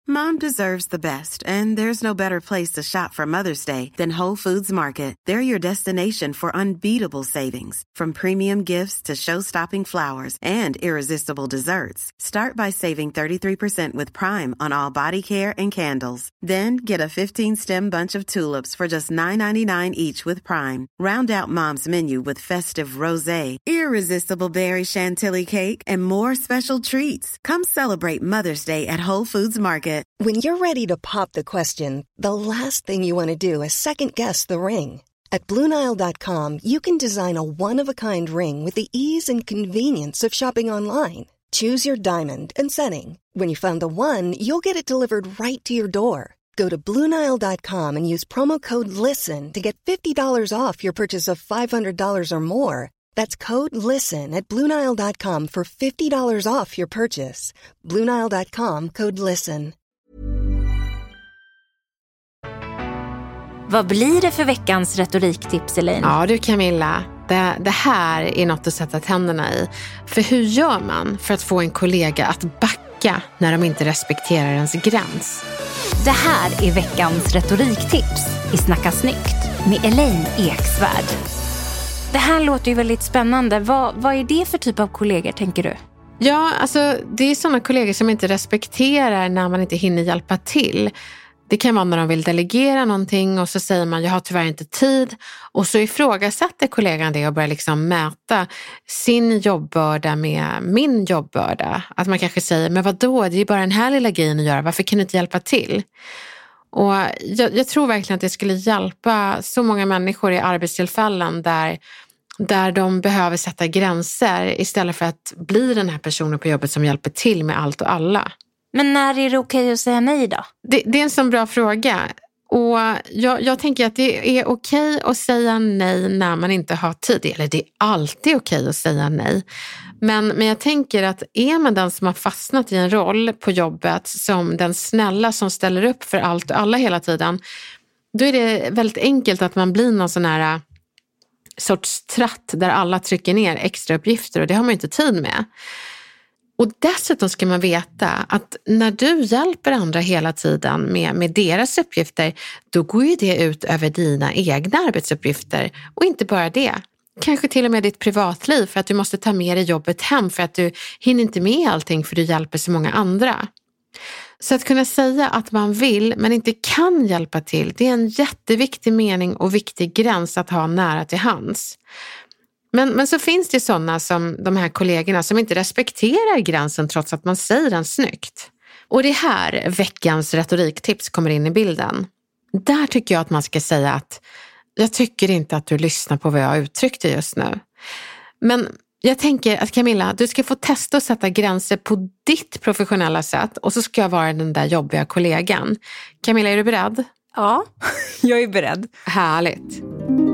Mom deserves the best, and there's no better place to shop for Mother's Day than Whole Foods Market. They're your destination for unbeatable savings, from premium gifts to show-stopping flowers and irresistible desserts. Start by saving 33% with Prime on all body care and candles. Then get a 15-stem bunch of tulips for just $9.99 each with Prime. Round out Mom's menu with festive rosé, irresistible berry chantilly cake, and more special treats. Come celebrate Mother's Day at Whole Foods Market. When you're ready to pop the question, the last thing you want to do is second-guess the ring. At BlueNile.com, you can design a one-of-a-kind ring with the ease and convenience of shopping online. Choose your diamond and setting. When you find the one, you'll get it delivered right to your door. Go to BlueNile.com and use promo code LISTEN to get $50 off your purchase of $500 or more. That's code LISTEN at BlueNile.com for $50 off your purchase. BlueNile.com, code LISTEN. Vad blir det för veckans retoriktips, Elaine? Ja du Camilla, det här är något att sätta tänderna i. För hur gör man för att få en kollega att backa när de inte respekterar ens gräns? Det här är veckans retoriktips i Snacka snyggt med Elaine Eksvärd. Det här låter ju väldigt spännande. Vad är det för typ av kollegor, tänker du? Ja, alltså det är sådana kollegor som inte respekterar när man inte hinner hjälpa till. Det kan vara när de vill delegera någonting och så säger man jag har tyvärr inte tid. Och så ifrågasätter kollegan det och börjar liksom mäta sin jobbbörda med min jobbbörda. Att man kanske säger men vadå, det är bara den här lilla grejen att göra. Varför kan du inte hjälpa till? Och jag tror verkligen att det skulle hjälpa så många människor i arbetstillfällen där de behöver sätta gränser istället för att bli den här personen på jobbet som hjälper till med allt och alla. Men när är det okej att säga nej då? Det är en sån bra fråga. Och jag tänker att det är okej att säga nej när man inte har tid. Eller det är alltid okej att säga nej. Men jag tänker att är man den som har fastnat i en roll på jobbet som den snälla som ställer upp för allt och alla hela tiden, då är det väldigt enkelt att man blir någon sån här sorts tratt där alla trycker ner extra uppgifter och det har man inte tid med. Och dessutom ska man veta att när du hjälper andra hela tiden med deras uppgifter, då går ju det ut över dina egna arbetsuppgifter. Och inte bara det. Kanske till och med ditt privatliv för att du måste ta med dig jobbet hem för att du hinner inte med allting för du hjälper så många andra. Så att kunna säga att man vill men inte kan hjälpa till, det är en jätteviktig mening och viktig gräns att ha nära till hands. Men så finns det sådana som de här kollegorna som inte respekterar gränsen trots att man säger den snyggt. Och det här veckans retoriktips kommer in i bilden. Där tycker jag att man ska säga att jag tycker inte att du lyssnar på vad jag uttryckte just nu. Men jag tänker att Camilla, du ska få testa att sätta gränser på ditt professionella sätt och så ska jag vara den där jobbiga kollegan. Camilla, är du beredd? Ja, jag är beredd. Härligt.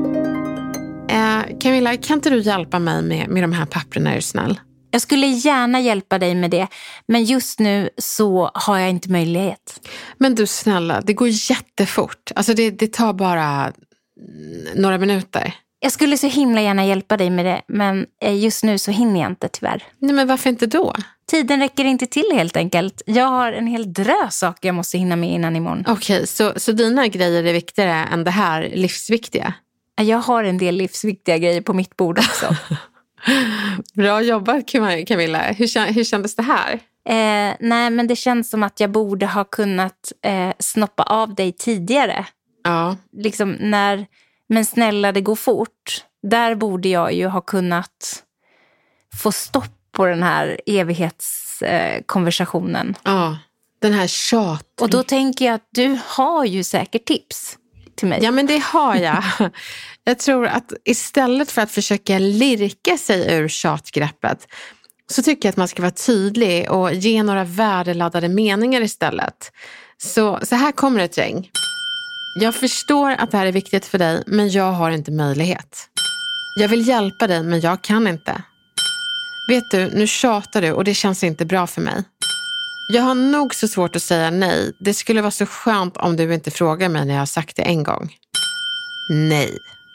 Camilla, kan inte du hjälpa mig med de här papperna, är du snäll? Jag skulle gärna hjälpa dig med det, men just nu så har jag inte möjlighet. Men du snälla, det går jättefort. Alltså det tar bara några minuter. Jag skulle så himla gärna hjälpa dig med det, men just nu så hinner jag inte tyvärr. Nej, men varför inte då? Tiden räcker inte till helt enkelt. Jag har en hel drös saker jag måste hinna med innan imorgon. Okej, så dina grejer är viktigare än det här livsviktiga? Jag har en del livsviktiga grejer på mitt bord också. Bra jobbat Camilla. Hur kändes det här? Nej, men det känns som att jag borde ha kunnat snoppa av dig tidigare. Ja. Liksom men snälla, det går fort. Där borde jag ju ha kunnat få stopp på den här evighetskonversationen. Ja, den här tjat. Och då tänker jag att du har ju säkert tips till mig. Ja, men det har jag. Jag tror att istället för att försöka lirka sig ur tjatgreppet så tycker jag att man ska vara tydlig och ge några värdeladdade meningar istället. Så här kommer ett gäng. Jag förstår att det här är viktigt för dig, men jag har inte möjlighet. Jag vill hjälpa dig, men jag kan inte. Vet du, nu tjatar du och det känns inte bra för mig. Jag har nog så svårt att säga nej. Det skulle vara så skönt om du inte frågar mig när jag har sagt det en gång. Nej.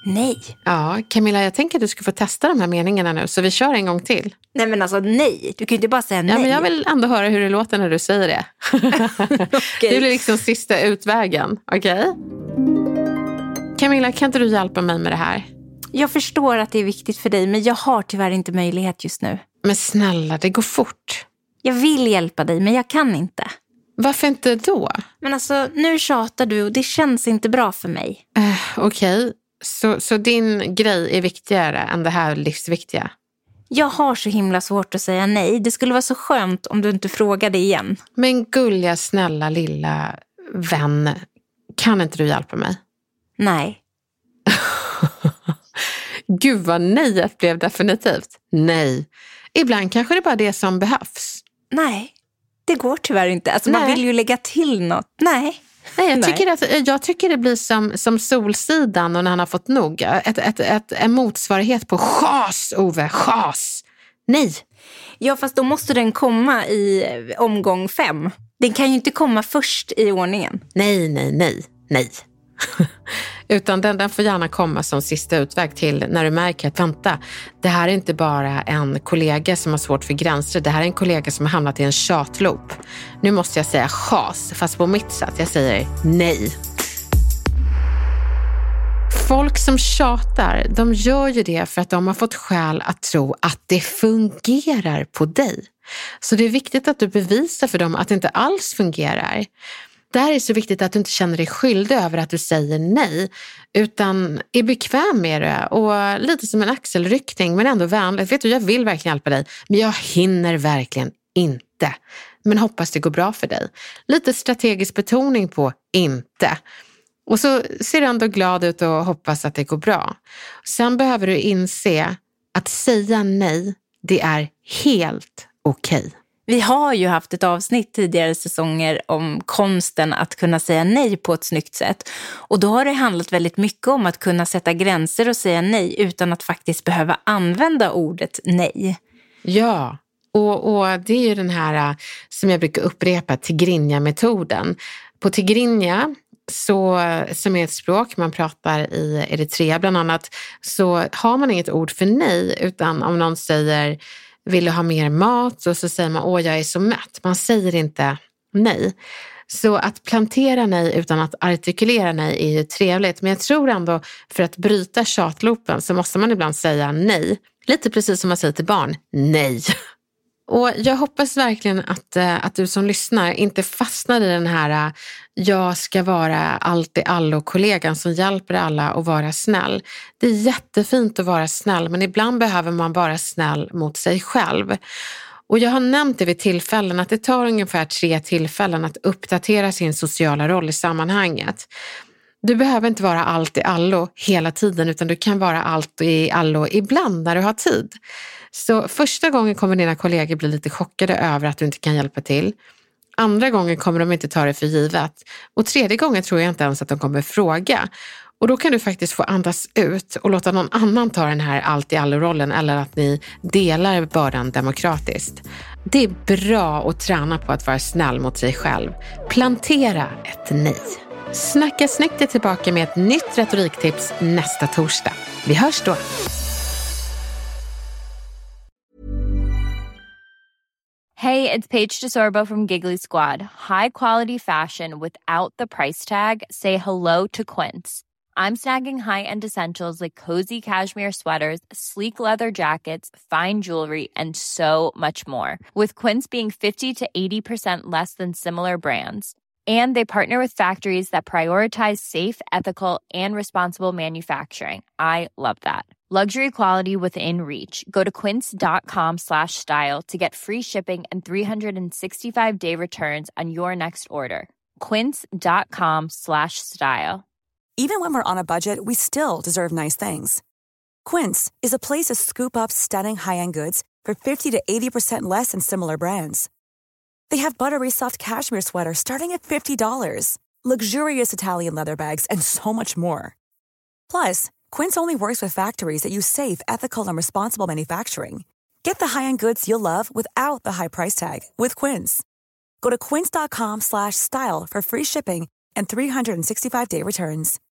Nej. Ja, Camilla, jag tänker att du ska få testa de här meningarna nu, så vi kör en gång till. Nej, men alltså nej. Du kan ju inte bara säga nej. Ja, men jag vill ändå höra hur det låter när du säger det. Okay. Det blir liksom sista utvägen, okej? Camilla, kan inte du hjälpa mig med det här? Jag förstår att det är viktigt för dig, men jag har tyvärr inte möjlighet just nu. Men snälla, det går fort. Jag vill hjälpa dig, men jag kan inte. Varför inte då? Men alltså, nu tjatar du och det känns inte bra för mig. Okej. Så din grej är viktigare än det här livsviktiga? Jag har så himla svårt att säga nej. Det skulle vara så skönt om du inte frågade igen. Men gulliga, snälla, lilla vän, kan inte du hjälpa mig? Nej. Gud vad nejet blev definitivt. Nej. Ibland kanske det är bara det som behövs. Nej, det går tyvärr inte. Alltså, man vill ju lägga till något. Nej, jag tycker det blir som Solsidan och när han har fått nog. En motsvarighet på chas, Ove. Chas. Nej. Ja, fast då måste den komma i omgång 5. Den kan ju inte komma först i ordningen. Nej. Utan den får gärna komma som sista utväg till när du märker att vänta, det här är inte bara en kollega som har svårt för gränser, det här är en kollega som har hamnat i en tjatloop. Nu måste jag säga chas, fast på mitt sätt. Jag säger nej. Folk som tjatar, de gör ju det för att de har fått skäl att tro att det fungerar på dig. Så det är viktigt att du bevisar för dem att det inte alls fungerar. Det här är så viktigt att du inte känner dig skyldig över att du säger nej, utan är bekväm med det och lite som en axelryckning, men ändå vänligt. Vet du, jag vill verkligen hjälpa dig, men jag hinner verkligen inte. Men hoppas det går bra för dig. Lite strategisk betoning på inte. Och så ser du ändå glad ut och hoppas att det går bra. Sen behöver du inse att säga nej, det är helt okej. Vi har ju haft ett avsnitt tidigare säsonger om konsten att kunna säga nej på ett snyggt sätt. Och då har det handlat väldigt mycket om att kunna sätta gränser och säga nej utan att faktiskt behöva använda ordet nej. Ja, och det är ju den här som jag brukar upprepa, Tigrinja-metoden. På Tigrinja, som är ett språk man pratar i Eritrea bland annat, så har man inget ord för nej, utan om någon säger vill du ha mer mat, och så säger man jag är så mätt. Man säger inte nej. Så att plantera nej utan att artikulera nej är ju trevligt. Men jag tror ändå för att bryta tjatloopen så måste man ibland säga nej. Lite precis som man säger till barn, nej. Och jag hoppas verkligen att du som lyssnar inte fastnar i den här jag ska vara alltid allo-kollegan som hjälper alla att vara snäll. Det är jättefint att vara snäll, men ibland behöver man vara snäll mot sig själv. Och jag har nämnt det vid tillfällen att det tar ungefär 3 tillfällen att uppdatera sin sociala roll i sammanhanget. Du behöver inte vara allt i allo hela tiden, utan du kan vara allt i allo ibland när du har tid. Så första gången kommer dina kollegor bli lite chockade över att du inte kan hjälpa till. Andra gången kommer de inte ta det för givet. Och tredje gången tror jag inte ens att de kommer fråga. Och då kan du faktiskt få andas ut och låta någon annan ta den här allt i allo-rollen, eller att ni delar bördan demokratiskt. Det är bra att träna på att vara snäll mot sig själv. Plantera ett nej. Snacka snyggt är tillbaka med ett nytt retoriktips nästa torsdag. Vi hörs då! Hey, it's Paige DeSorbo from Giggly Squad. High quality fashion without the price tag. Say hello to Quince. I'm snagging high-end essentials like cozy cashmere sweaters, sleek leather jackets, fine jewelry, and so much more. With Quince being 50 to 80% less than similar brands. And they partner with factories that prioritize safe, ethical, and responsible manufacturing. I love that. Luxury quality within reach. Go to quince.com/style to get free shipping and 365-day returns on your next order. Quince.com/style. Even when we're on a budget, we still deserve nice things. Quince is a place to scoop up stunning high-end goods for 50 to 80% less than similar brands. They have buttery soft cashmere sweaters starting at $50, luxurious Italian leather bags, and so much more. Plus, Quince only works with factories that use safe, ethical, and responsible manufacturing. Get the high-end goods you'll love without the high price tag with Quince. Go to quince.com/style for free shipping and 365-day returns.